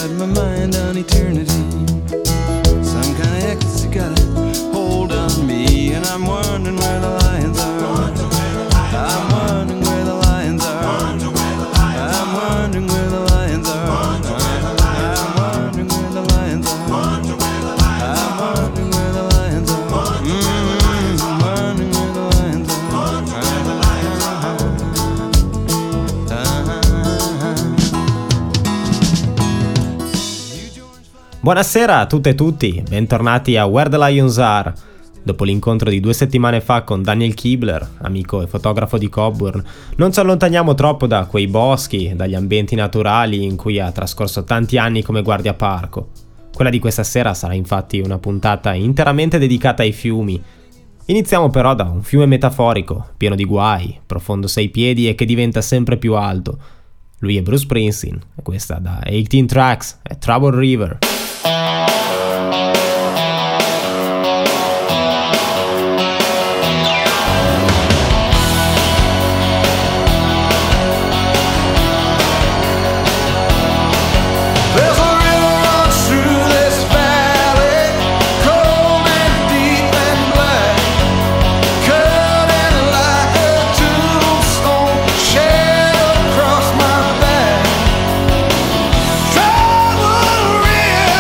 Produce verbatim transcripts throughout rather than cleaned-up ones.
got my mind on eternity. Some kind of ecstasy got a hold on me, and I'm wondering where the lions are. I'm wondering where the lions are. I'm wondering where the lions are. I'm wondering where the lions are. I'm wondering where the lions are. Mm, I'm wondering where the lions are. Buonasera a tutte e tutti, bentornati a Where the Lions Are. Dopo l'incontro di due settimane fa con Daniel Kibler, amico e fotografo di Cockburn, non ci allontaniamo troppo da quei boschi, dagli ambienti naturali in cui ha trascorso tanti anni come guardiaparco. Quella di questa sera sarà infatti una puntata interamente dedicata ai fiumi. Iniziamo però da un fiume metaforico, pieno di guai, profondo sei piedi e che diventa sempre più alto. Lui è Bruce Springsteen, e questa da eighteen Tracks è Trouble River. Trouble River.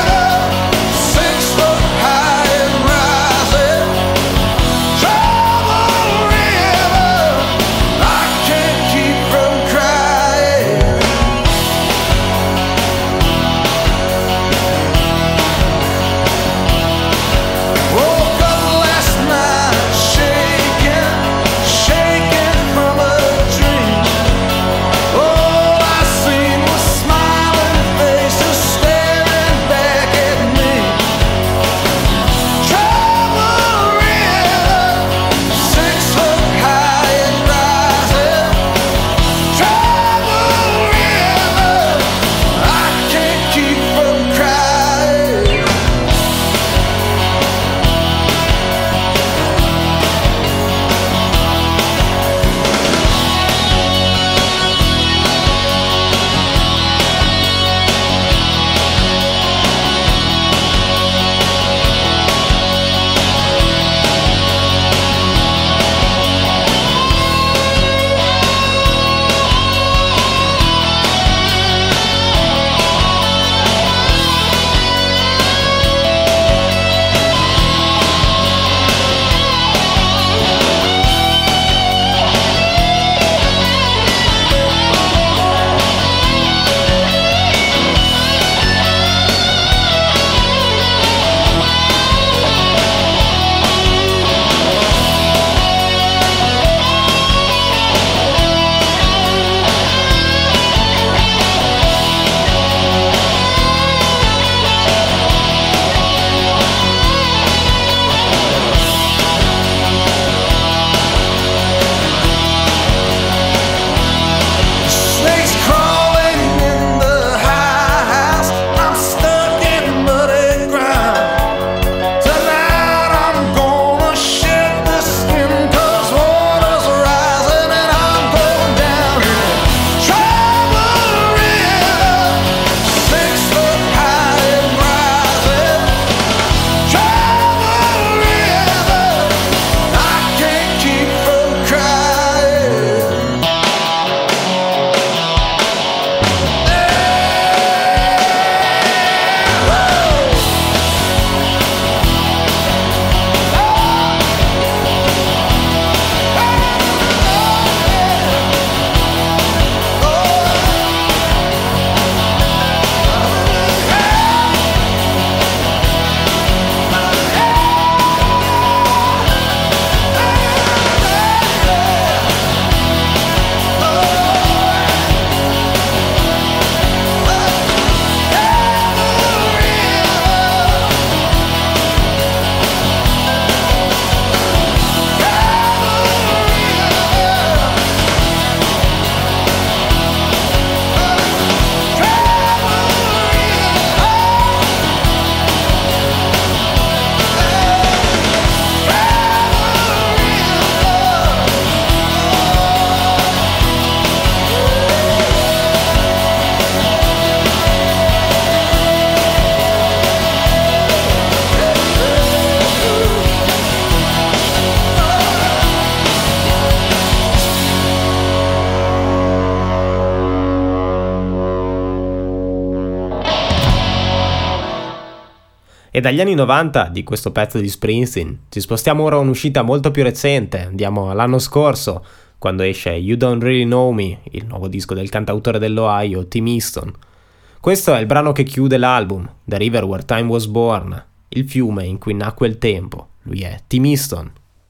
E dagli anni novanta di questo pezzo di Springsteen ci spostiamo ora a un'uscita molto più recente, andiamo all'anno scorso, quando esce You Don't Really Know Me, il nuovo disco del cantautore dell'Ohio, Tim Easton. Questo è il brano che chiude l'album, The River Where Time Was Born, il fiume in cui nacque il tempo. Lui è Tim Easton.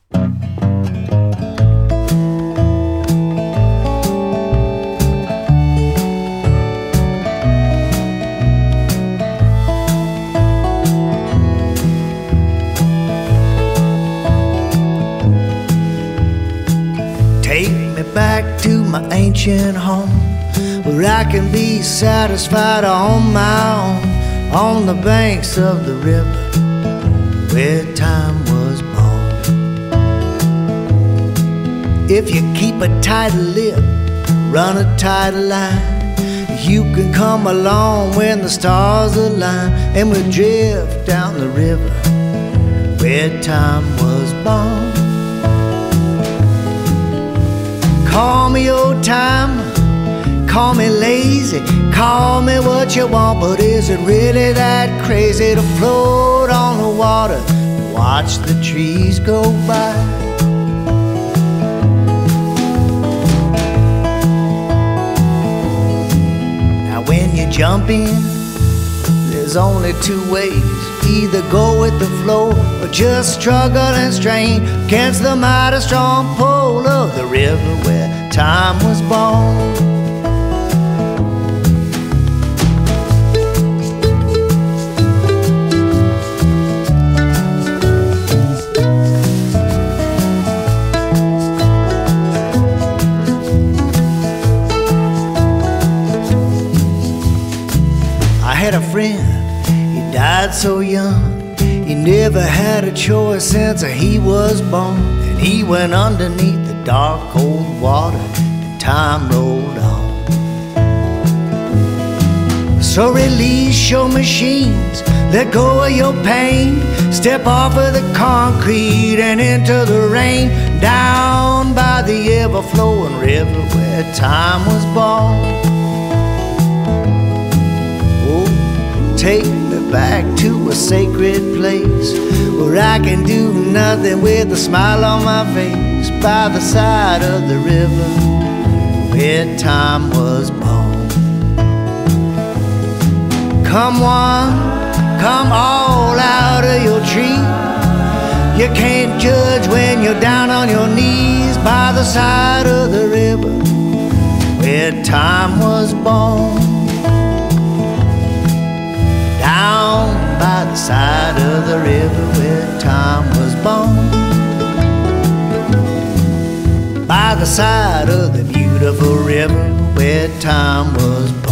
Take me back to my ancient home, where I can be satisfied on my own, on the banks of the river where time was born. If you keep a tight lip, run a tight line, you can come along when the stars align, and we'll drift down the river where time was born. Call me old timer, call me lazy, call me what you want, but is it really that crazy to float on the water and watch the trees go by? Now when you jump in, there's only two ways, either go with the flow or just struggle and strain against the mighty strong pull of the river where time was born. I had a friend, he died so young, he never had a choice since he was born, and he went underneath the dark cold water and time rolled on. So release your machines, let go of your pain, step off of the concrete and into the rain, down by the ever-flowing river where time was born. Take me back to a sacred place where I can do nothing with a smile on my face, by the side of the river where time was born. Come one, come all out of your tree. You can't judge when you're down on your knees by the side of the river where time was born. Down by the side of the river where time was born, by the side of the beautiful river where time was born.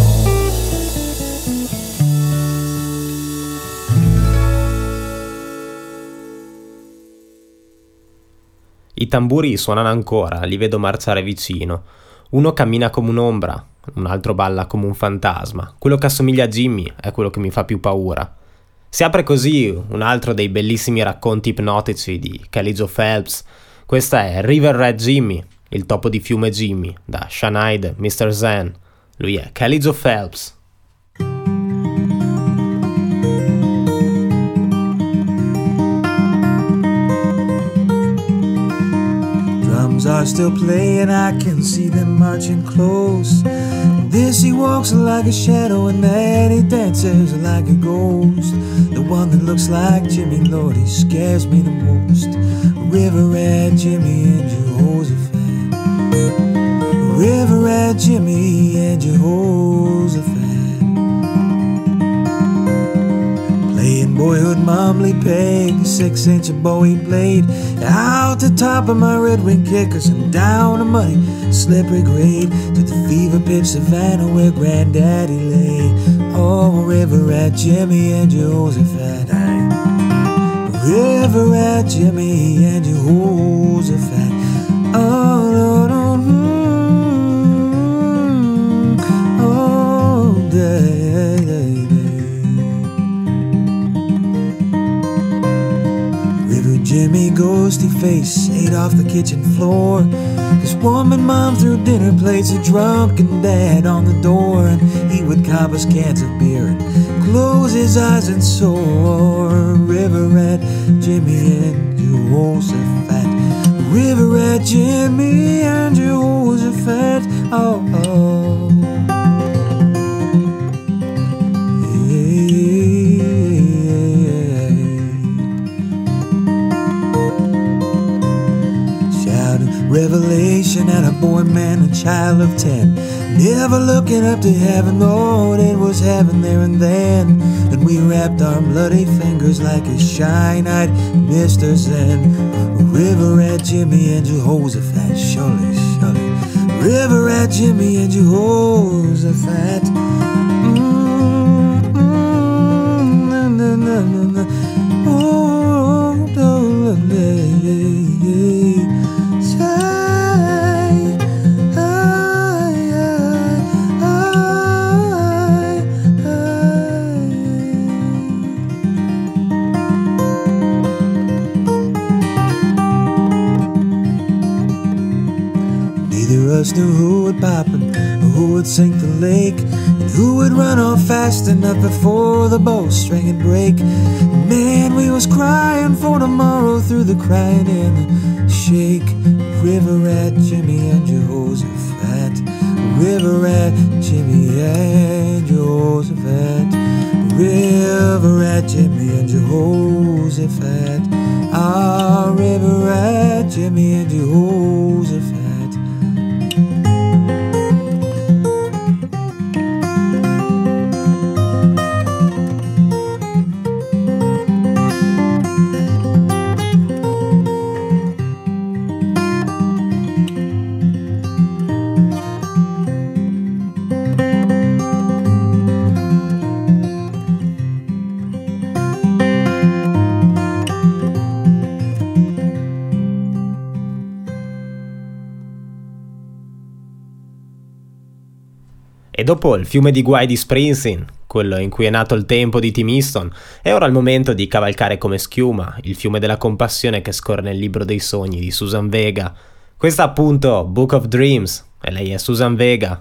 I tamburi suonano ancora, li vedo marciare vicino. Uno cammina come un'ombra, un altro balla come un fantasma. Quello che assomiglia a Jimmy è quello che mi fa più paura. Si apre così un altro dei bellissimi racconti ipnotici di Kelly Joe Phelps. Questa è River Rat Jimmy, il topo di fiume Jimmy, da Shine-Eyed mister Zen. Lui è Kelly Joe Phelps. Drums are still playing, I can see them marching close. This he walks like a shadow, and that he dances like a ghost. The one that looks like Jimmy, Lord, he scares me the most. River Rat Jimmy and Jehoshaphat. River Rat Jimmy and Jehoshaphat. Playing boyhood mumbly peg, six inch Bowie blade, out the top of my red wing kickers and down a muddy slippery grade to the fever pitch savannah where granddaddy lay. Oh, River Rat Jimmy and Jehoshaphat. River Rat Jimmy and Jehoshaphat. Oh, no, no, no. Oh, day, day, day. River Jimmy, ghosty face, ate off the kitchen floor. His woman mom threw dinner plates, a drunken dad on the door, and he would cop us cans of beer and close his eyes and soar. River rat Jimmy and Jehoshaphat, river rat Jimmy and Jehoshaphat. Oh, oh. Revelation at a boy, man, a child of ten, never looking up to heaven, Lord, it was heaven there and then. And we wrapped our bloody fingers like a shy-eyed Mister Zen. River rat Jimmy and Jehoshaphat, surely, surely. River rat Jimmy and Jehoshaphat. Mm-hmm. Na, na, na, na, na. Oh, oh, yeah, yeah, yeah. Knew who would pop and who would sink the lake, and who would run off fast enough before the bowstring would break. Man, we was crying for tomorrow through the crying in the shake. River rat Jimmy and Jehoshaphat, river rat Jimmy and Jehoshaphat, river rat Jimmy and Jehoshaphat, ah, river rat Jimmy and Jehoshaphat. E dopo il fiume di guai di Springsteen, quello in cui è nato il tempo di Tim Easton, è ora il momento di cavalcare come schiuma il fiume della compassione che scorre nel libro dei sogni di Suzanne Vega. Questa appunto Book of Dreams, e lei è Suzanne Vega.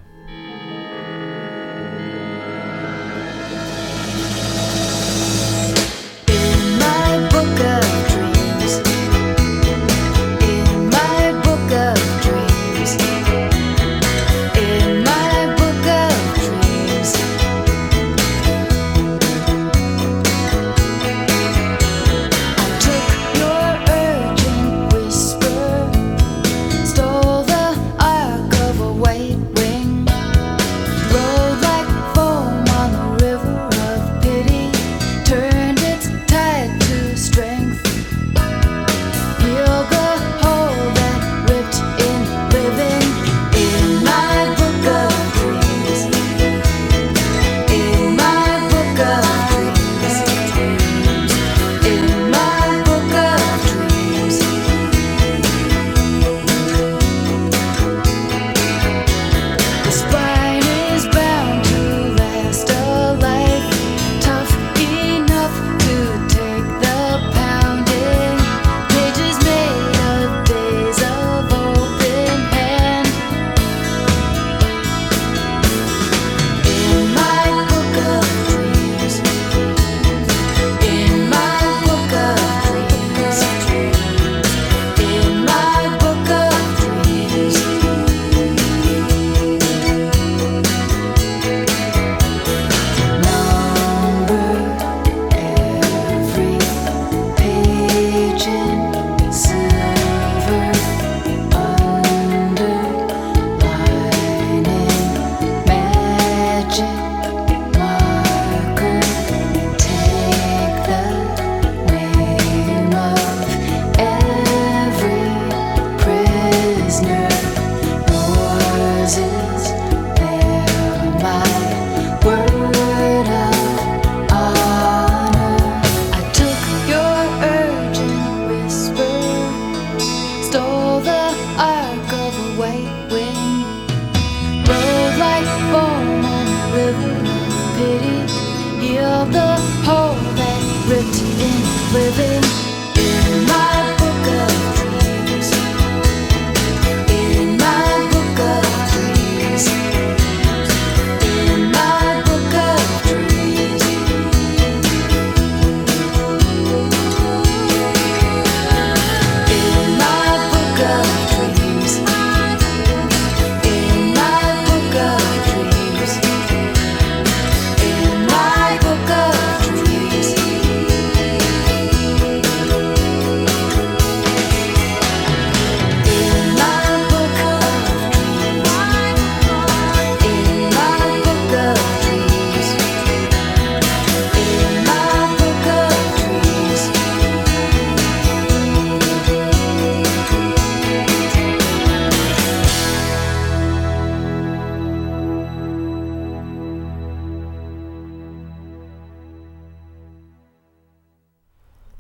living in my book of dreams, in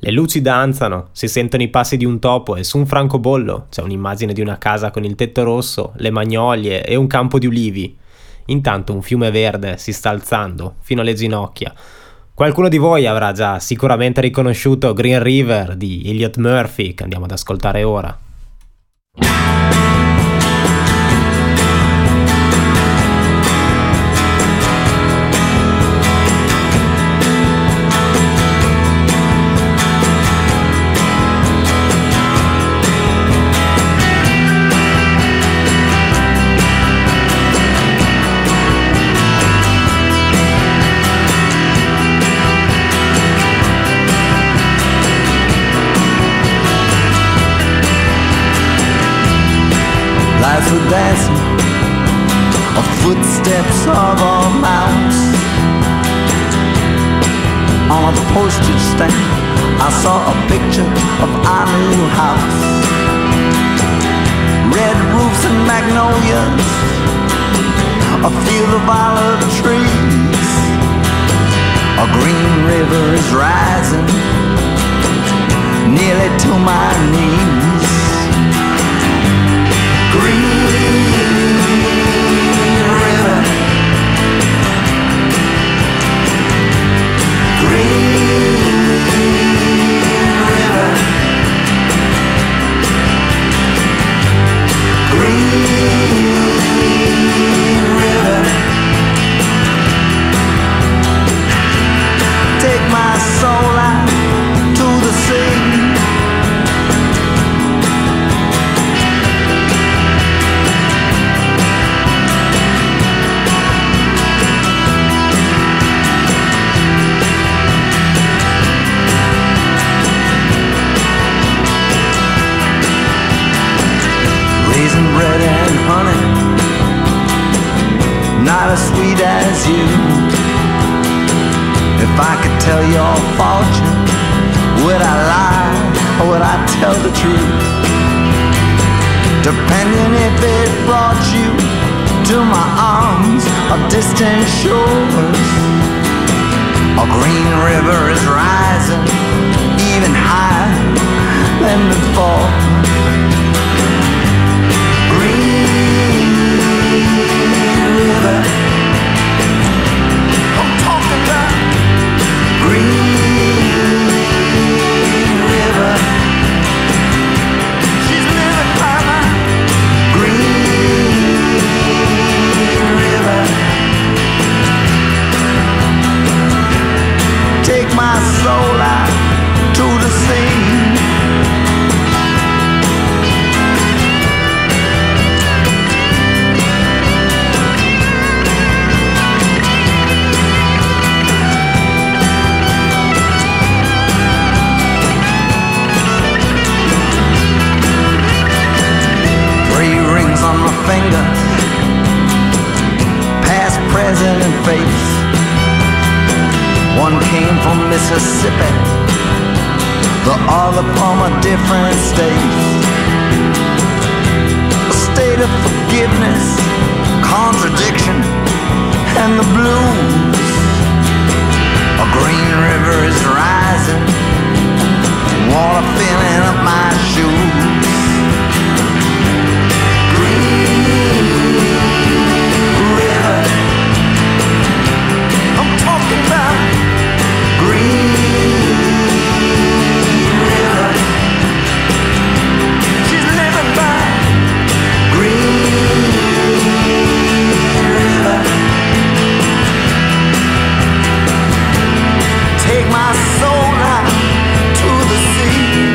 Le luci danzano, si sentono i passi di un topo e su un francobollo c'è un'immagine di una casa con il tetto rosso, le magnolie e un campo di ulivi. Intanto un fiume verde si sta alzando fino alle ginocchia. Qualcuno di voi avrà già sicuramente riconosciuto Green River di Elliott Murphy, che andiamo ad ascoltare ora. Lights were dancing, of footsteps of a mouse. On a postage stamp, I saw a picture of our new house. Red roofs and magnolias, a field of olive trees. A green river is rising, nearly to my knees. Green River, Green River, Green River. Take my soul out to the sea. Bread and honey, not as sweet as you. If I could tell your fortune, would I lie or would I tell the truth? Depending if it brought you to my arms or distant shores. A green river is rising even higher than before. River, I'm talking about Green River. She's living by my Green River. Take my soul out to the sea. On my fingers, past, present, and face. One came from Mississippi, the other from a different state. A state of forgiveness, contradiction, and the blues. A green river is rising, water filling up my shoes. I'm talking about Green River. She's living by Green River. Take my soul out to the sea.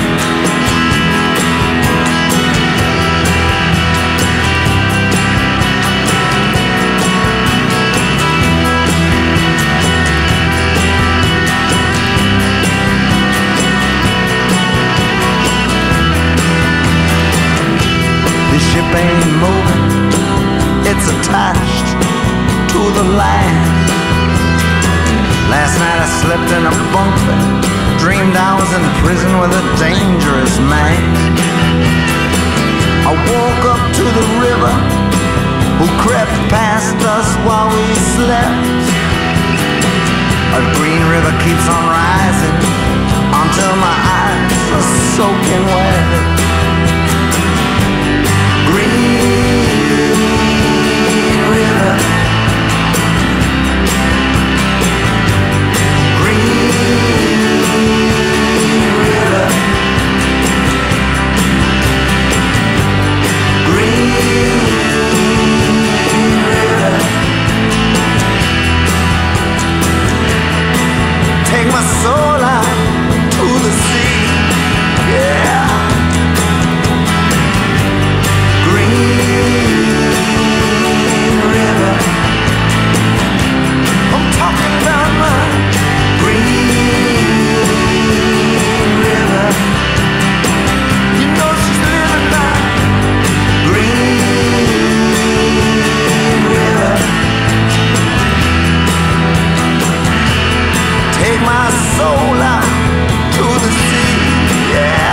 Ship ain't moving, it's attached to the land. Last night I slept in a bunk bed, dreamed I was in prison with a dangerous man. I woke up to the river, who crept past us while we slept. A green river keeps on rising onto my soul out to the sea. Yeah. Green River, I'm talking about my Green River. You know she's living by Green River. Take my soul out to the sea, yeah.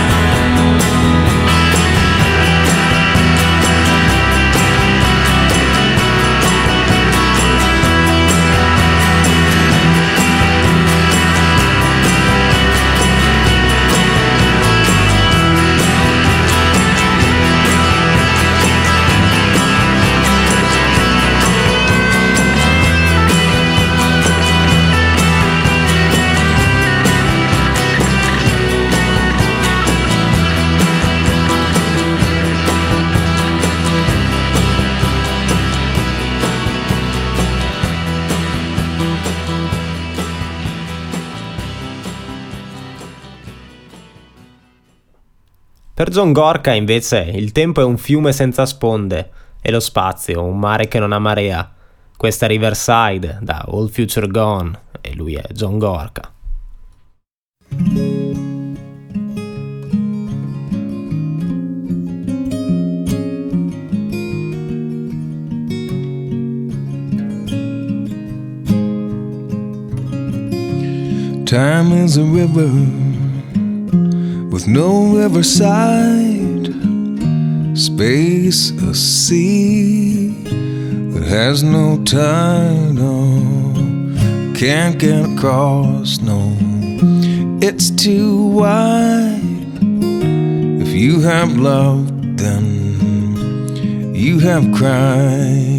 Per John Gorka, invece, il tempo è un fiume senza sponde e lo spazio un mare che non ha marea. Questa è Riverside da All Future Gone e lui è John Gorka. Time is a river with no riverside, space a sea that has no tide, oh, can't get across, no, it's too wide. If you have loved, then you have cried.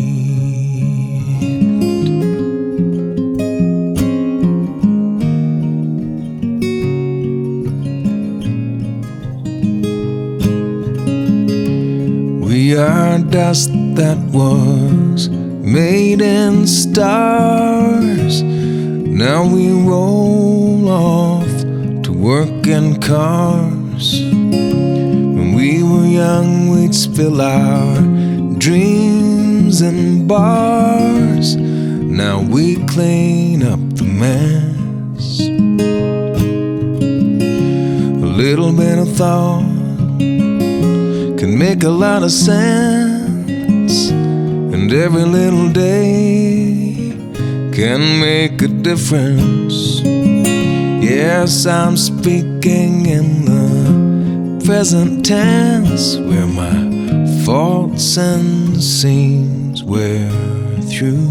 We are dust that was made in stars. Now we roll off to work in cars. When we were young, we'd spill our dreams in bars. Now we clean up the mess. A little bit of thought can make a lot of sense, and every little day can make a difference. Yes, I'm speaking in the present tense, where my faults and seams wear through.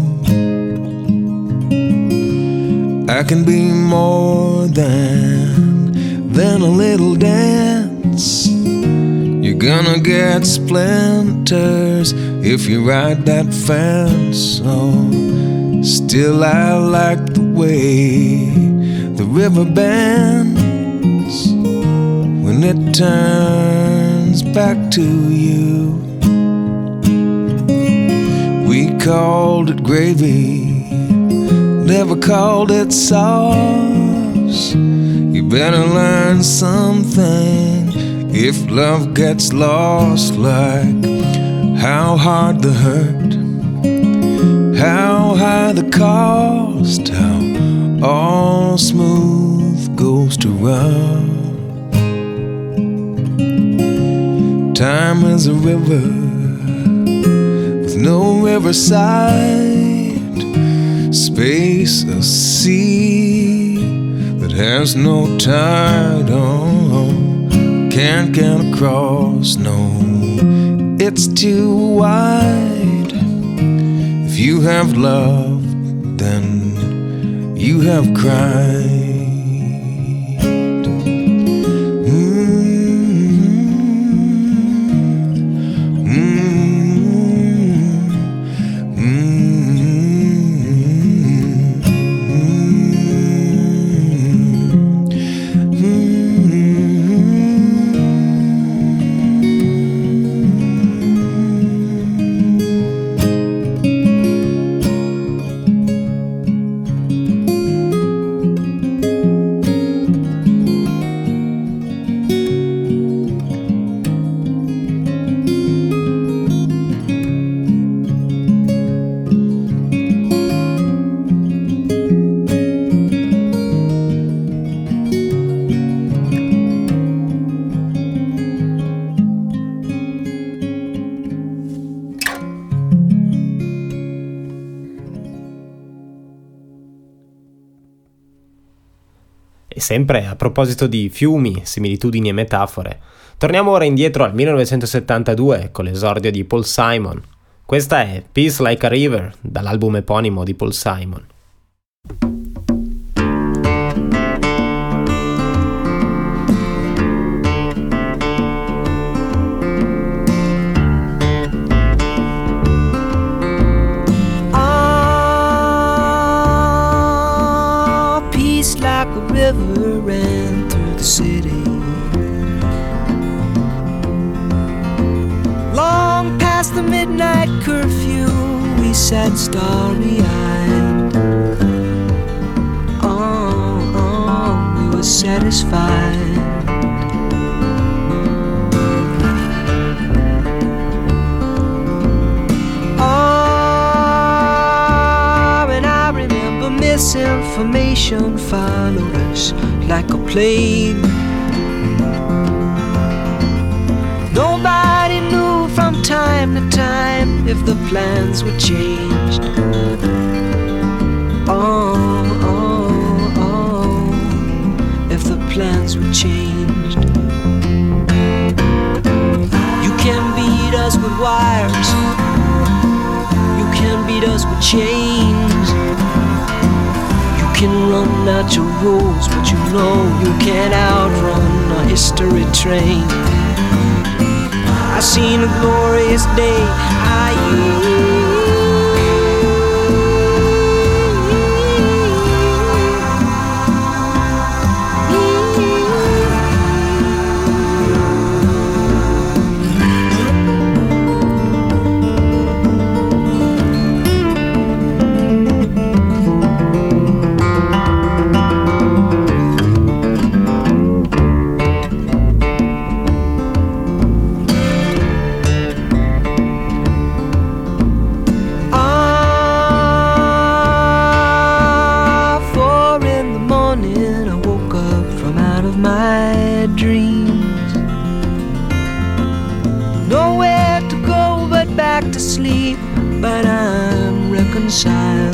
I can be more than than a little dance. You're gonna get splinters if you ride that fence. Oh, still I like the way the river bends when it turns back to you. We called it gravy, never called it sauce. You better learn something if love gets lost, like how hard the hurt, how high the cost, how all smooth goes to rough. Time is a river with no riverside, space a sea that has no tide, oh, can't get across, no, it's too wide. If you have loved, then you have cried. E sempre a proposito di fiumi, similitudini e metafore, torniamo ora indietro al millenovecentosettantadue con l'esordio di Paul Simon. Questa è Peace Like a River, dall'album eponimo di Paul Simon. Like a river ran through the city, long past the midnight curfew we sat starry-eyed. Oh, oh, we were satisfied. Misinformation followed us like a plague. Nobody knew from time to time if the plans were changed. Oh, oh, oh, if the plans were changed. You can beat us with wires, you can beat us with chains. You can run out your rules, but you know you can't outrun a history train. I seen a glorious day, I to sleep, but I'm reconciled.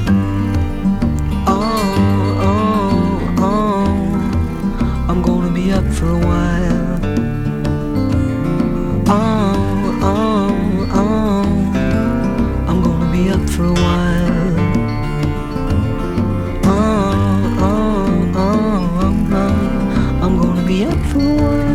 Oh, oh, oh, I'm gonna be up for a while. Oh, oh, oh, I'm gonna be up for a while. Oh, oh, oh, oh, I'm gonna be up for a while.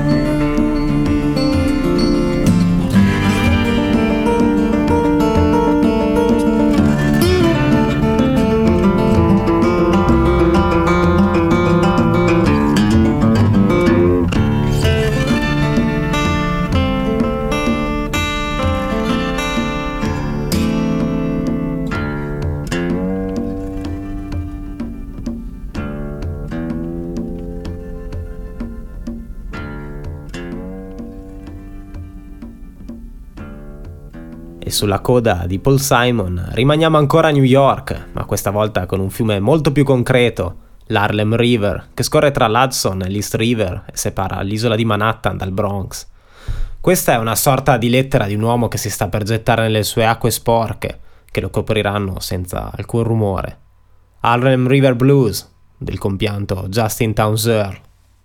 E sulla coda di Paul Simon rimaniamo ancora a New York, ma questa volta con un fiume molto più concreto, l'Harlem River, che scorre tra l'Hudson e l'East River e separa l'isola di Manhattan dal Bronx. Questa è una sorta di lettera di un uomo che si sta per gettare nelle sue acque sporche, che lo copriranno senza alcun rumore. Harlem River Blues, del compianto Justin Townes Earle.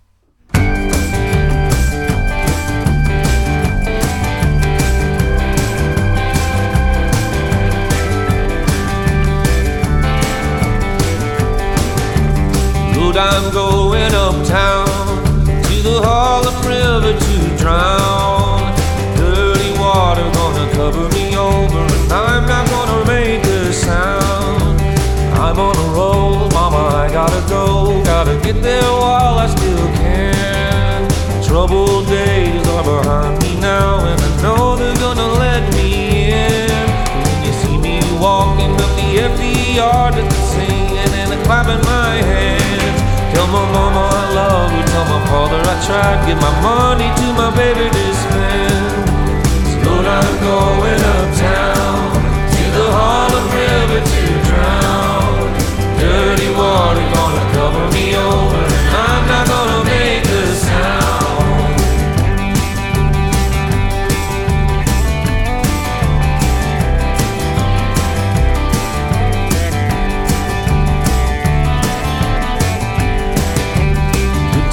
I'm going uptown to the Harlem River to drown. Dirty water gonna cover me over, and I'm not gonna make a sound. I'm on a roll, mama, I gotta go. Gotta get there while I still can. Troubled days are behind me now, and I know they're gonna let me in. When you see me walking up the empty yard with the singing and the clapping my hands, tell my mama I love her, tell my father I tried to give my money to my baby to spend. So I'm going uptown to the Harlem River to drown. Dirty water gonna cover me over, and I'm not gonna make a sound.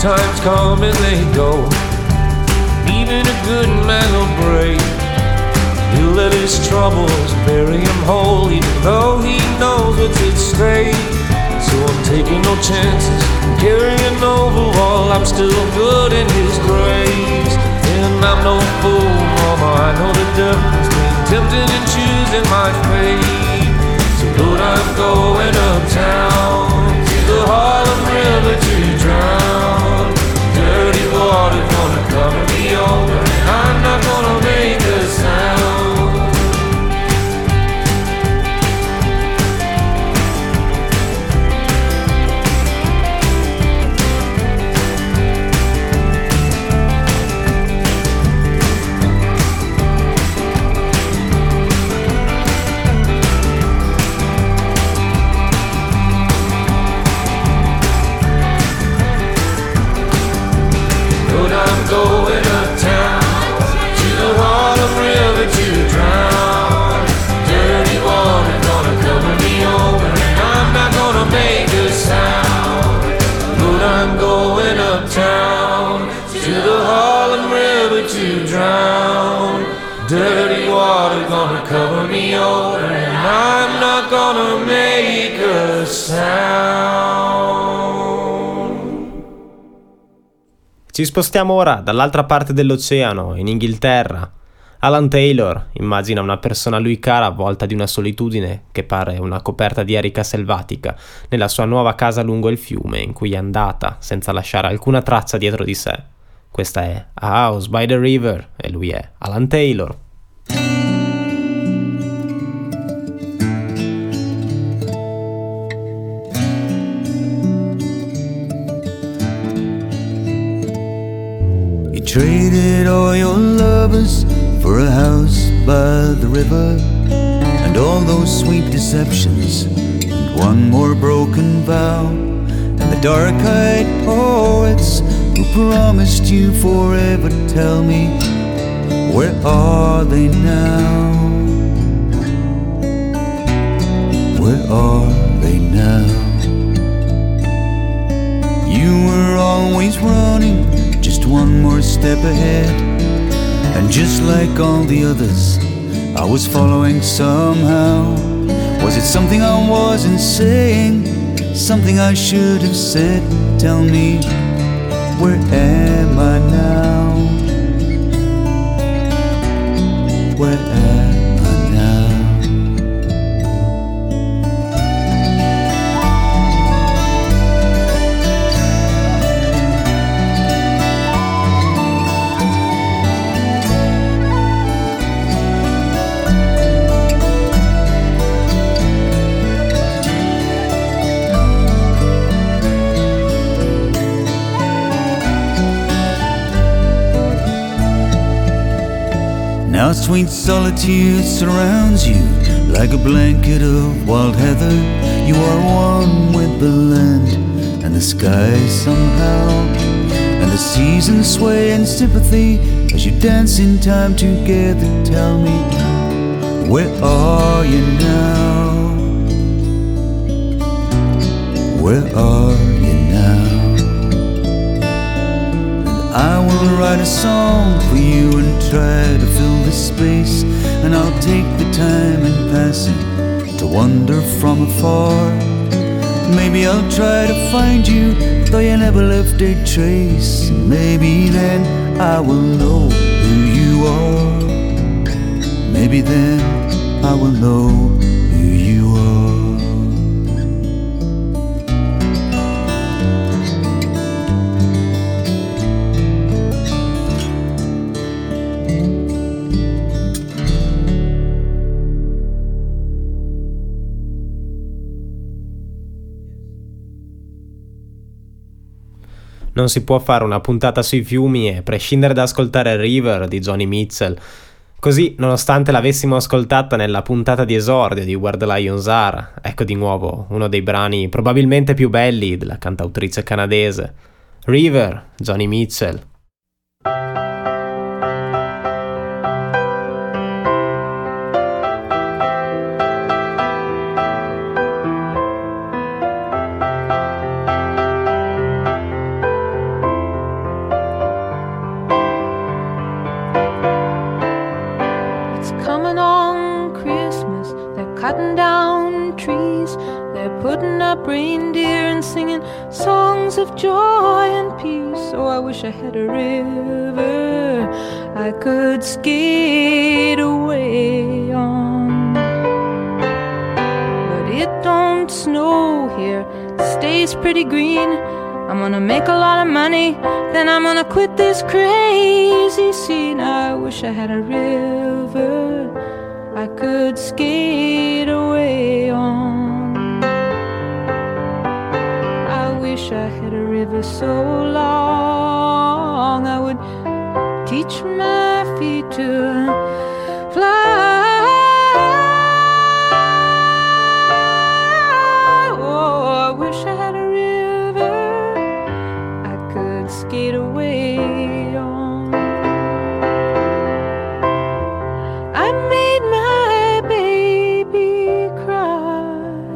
times come and they go. Even a good man will break. He'll let his troubles bury him whole, even though he knows what's at stake. So I'm taking no chances, carrying over while I'm still good in his grace. And I'm no fool, mama, I know the difference between tempting and choosing my fate. So Lord, I'm going uptown to the Harlem River to drown. Dirty water gonna cover me over, and I'm not gonna make a sound. Going uptown to the Harlem River to drown. Dirty water gonna cover me over, and I'm not gonna make a sound. But I'm going uptown to the Harlem River to drown. Dirty water gonna cover me over, and I'm not gonna make a sound. Ci spostiamo ora dall'altra parte dell'oceano, in Inghilterra. Alan Taylor immagina una persona a lui cara avvolta di una solitudine che pare una coperta di erica selvatica nella sua nuova casa lungo il fiume in cui è andata senza lasciare alcuna traccia dietro di sé. Questa è A House by the River e lui è Alan Taylor. Traded all your lovers for a house by the river, and all those sweet deceptions, and one more broken vow, and the dark-eyed poets who promised you forever. Tell me, where are they now? Where are they now? You were always running, just one more step ahead, and just like all the others, I was following somehow. Was it something I wasn't saying, something I should have said? Tell me, where am I now? Where am I now? Now sweet solitude surrounds you like a blanket of wild heather. You are one with the land and the sky somehow, and the seasons sway in sympathy as you dance in time together. Tell me, where are you now? Where are you now? I will write a song for you and try to fill the space, and I'll take the time in passing to wander from afar. Maybe I'll try to find you, though you never left a trace. Maybe then I will know who you are. Maybe then I will know who you are. Non si può fare una puntata sui fiumi e prescindere da ascoltare River di Joni Mitchell. Così, nonostante l'avessimo ascoltata nella puntata di esordio di Where the Lions Are, ecco di nuovo uno dei brani probabilmente più belli della cantautrice canadese. River, Joni Mitchell. putting up reindeer and singing songs of joy and peace. Oh, I wish I had a river I could skate away on. But it don't snow here, it stays pretty green. I'm gonna make a lot of money, then I'm gonna quit this crazy scene. I wish I had a river I could skate away on. I wish I had a river so long I would teach my feet to fly. Oh, I wish I had a river I could skate away on. I made my baby cry.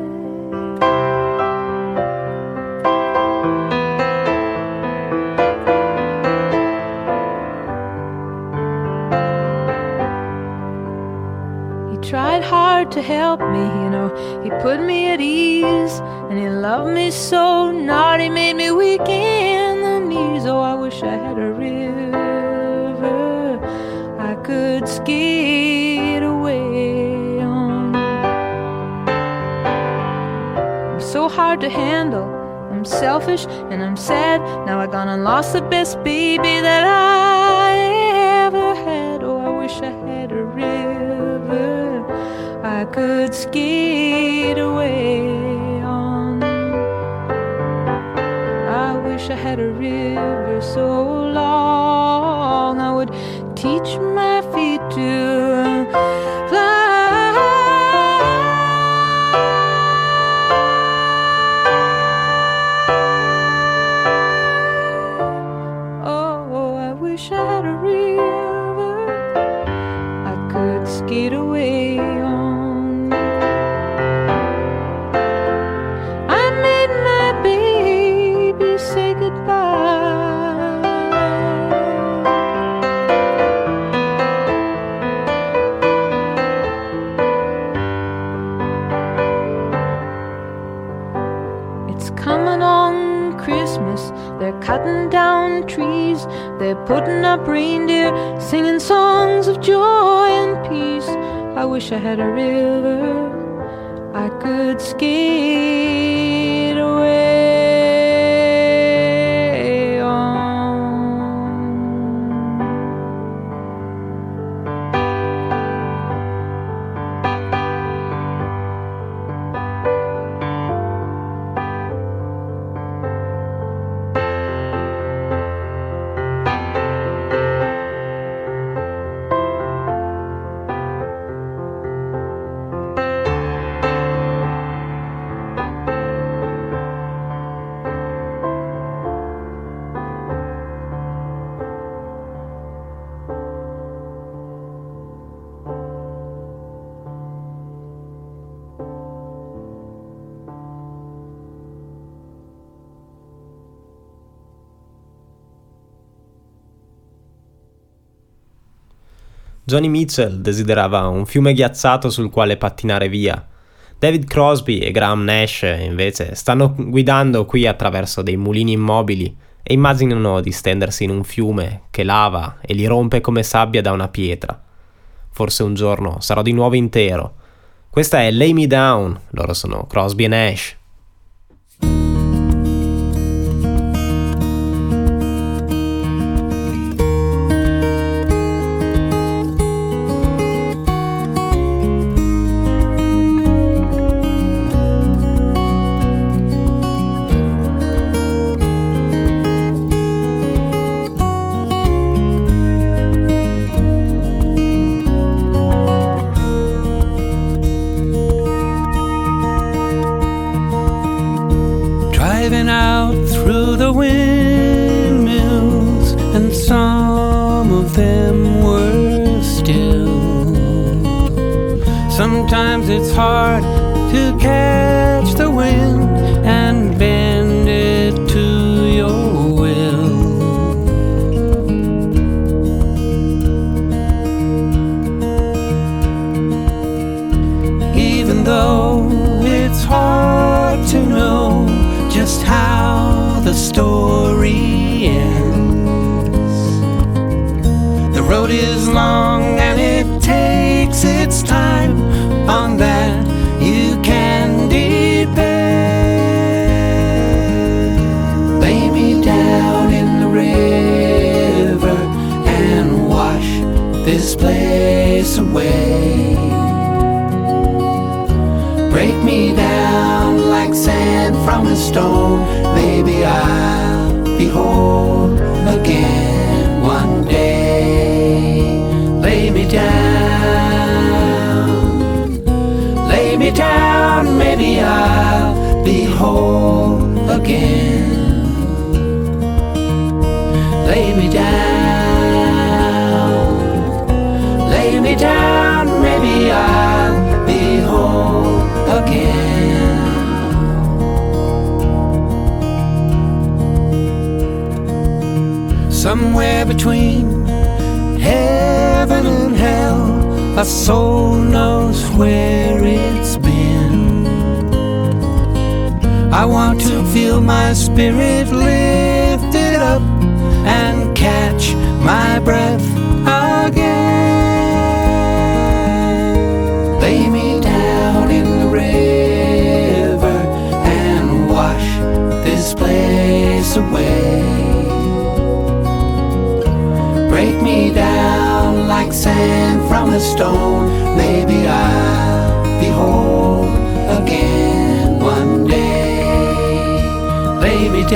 He tried hard to help me, you know, he put me at ease, and he loved me so, not he made me weak in the knees. Oh, I wish I had a river I could skate away on. I'm so hard to handle, I'm selfish and I'm sad. Now I gone and lost the best baby that I ever had. Oh, I wish I had a river I could skate away on. I wish I had a river so long I would teach my feet to fly. Oh, I wish I had a river I could skate away on. I made my baby say goodbye. It's coming on Christmas, they're cutting down trees, they're putting up reindeer, singing songs of joy and peace. I wish I had a river I could skate away on. Johnny Mitchell desiderava un fiume ghiacciato sul quale pattinare via. David Crosby e Graham Nash, invece, stanno guidando qui attraverso dei mulini immobili e immaginano di stendersi in un fiume che lava e li rompe come sabbia da una pietra. Forse un giorno sarò di nuovo intero. Questa è Lay Me Down, loro sono Crosby e Nash. Driving out through the windmills, and some of them were still. Sometimes it's hard to catch the wind and bend it to your will. Even though it's hard just how the story ends. The road is long and it takes its time, on that you can depend. Lay me down in the river and wash this place away. Break me down like sand from a stone. Maybe I'll be whole again one day. Lay me down, lay me down. Maybe I'll be whole again. Lay me down, lay me down. Maybe I'll be whole again. Somewhere between heaven and hell, a soul knows where it's been. I want to feel my spirit lifted up and catch my breath again. Lay me down in the river and wash this place away. Break me down like sand from a stone. Maybe I'll be whole again one day. Lay me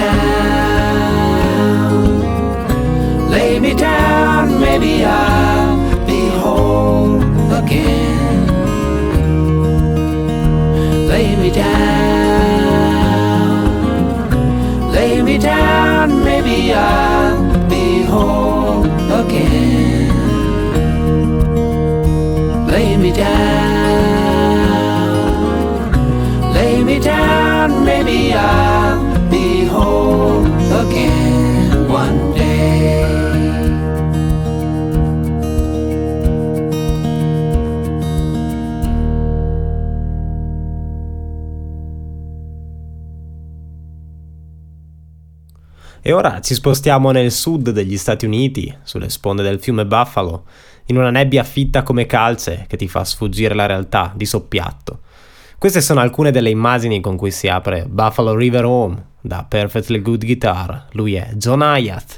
down, lay me down. Maybe I'll be whole again. Lay me down, lay me down. Maybe I'll be whole again. Lay me down, lay me down. Maybe I'll be whole again one day. E ora ci spostiamo nel sud degli Stati Uniti, sulle sponde del fiume Buffalo, in una nebbia fitta come calce che ti fa sfuggire la realtà di soppiatto. Queste sono alcune delle immagini con cui si apre Buffalo River Home, da Perfectly Good Guitar. Lui è John Hiatt.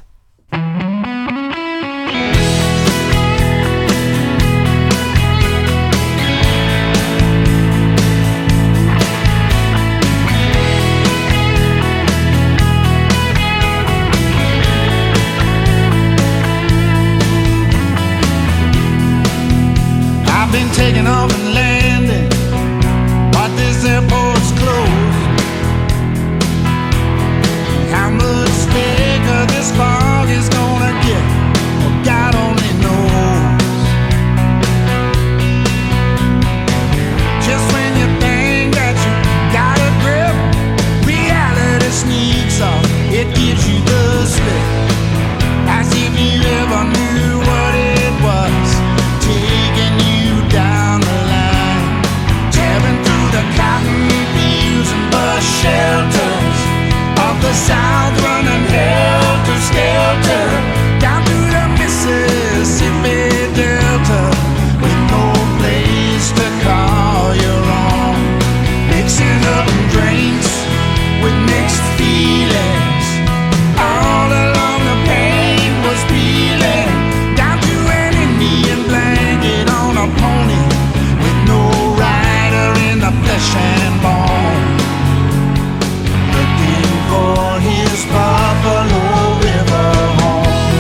Taking off and landing, but this airport's closed. How much bigger this fog is gonna get, well, God only knows. Just when you think that you got a grip, reality sneaks up, it gives you the slip, as if you ever knew what it was, taking you down the line, tearing through the cotton fields and bus shelters of the South, running helter-skelter down to the Mississippi Delta, with no place to call your own, mixing up drinks with mixed feelings. All along the pain was peeling down to an Indian blanket on a pony, with no rider in the flesh and bone, looking for his Buffalo River home.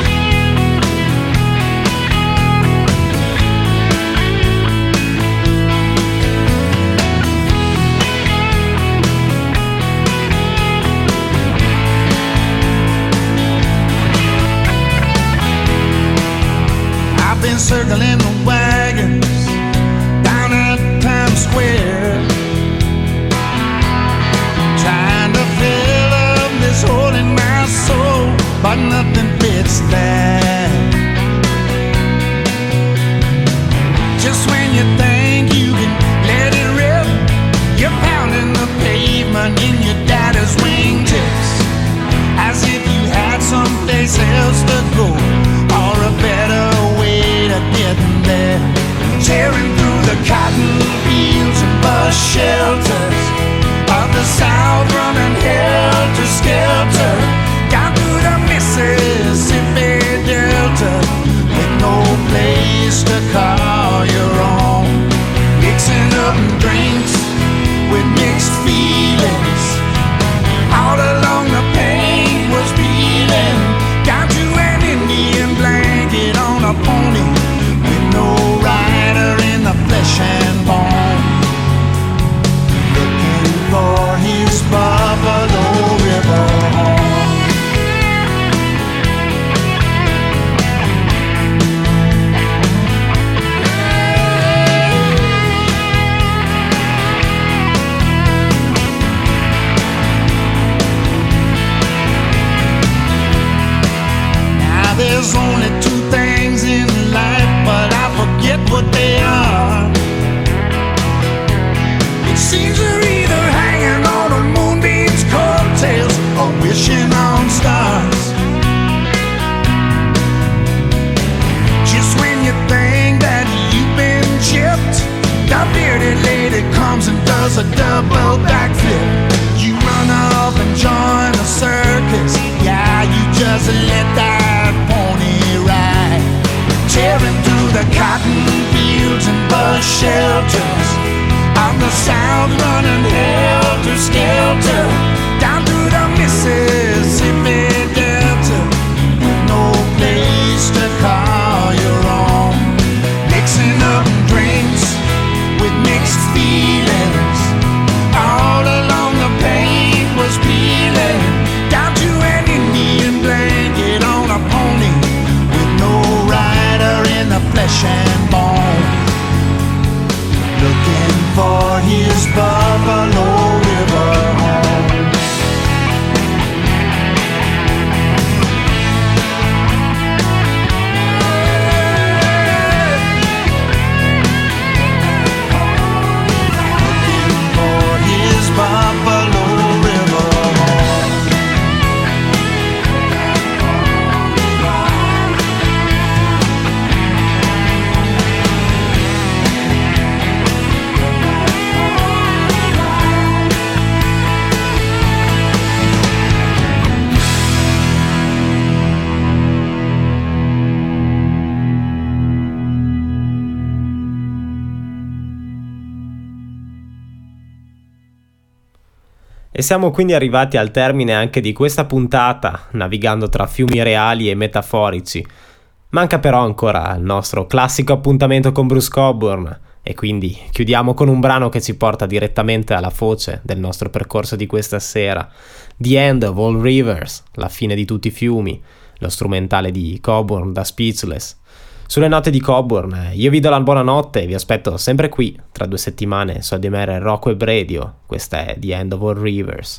I've been circling the wagons down at Times Square, trying to fill up this hole in my soul, but nothing fits that. Just when you think you can let it rip, you're pounding the pavement in your daddy's wind. or wishing on stars. Just when you think that you've been chipped, the bearded lady comes and does a double backflip. You run off and join the circus. Yeah, you just let that pony ride, tearing through the cotton fields and bus shelters. On the south, running helter skelter down through the Mississippi Delta, with no place to call your own. Mixing up drinks with mixed feelings. All along the paint was peeling down to an Indian blanket on a pony, with no rider in the flesh and bone, looking for his Buffalo River home. Looking for his Buffalo River home. E siamo quindi arrivati al termine anche di questa puntata, navigando tra fiumi reali e metaforici. Manca però ancora il nostro classico appuntamento con Bruce Cockburn, e quindi chiudiamo con un brano che ci porta direttamente alla foce del nostro percorso di questa sera. The End of All Rivers, la fine di tutti i fiumi, lo strumentale di Cockburn da Speechless. Sulle note di Cockburn io vi do la buonanotte e vi aspetto sempre qui tra due settimane su A D M R Rock Web Radio. Questa è The End of All Rivers.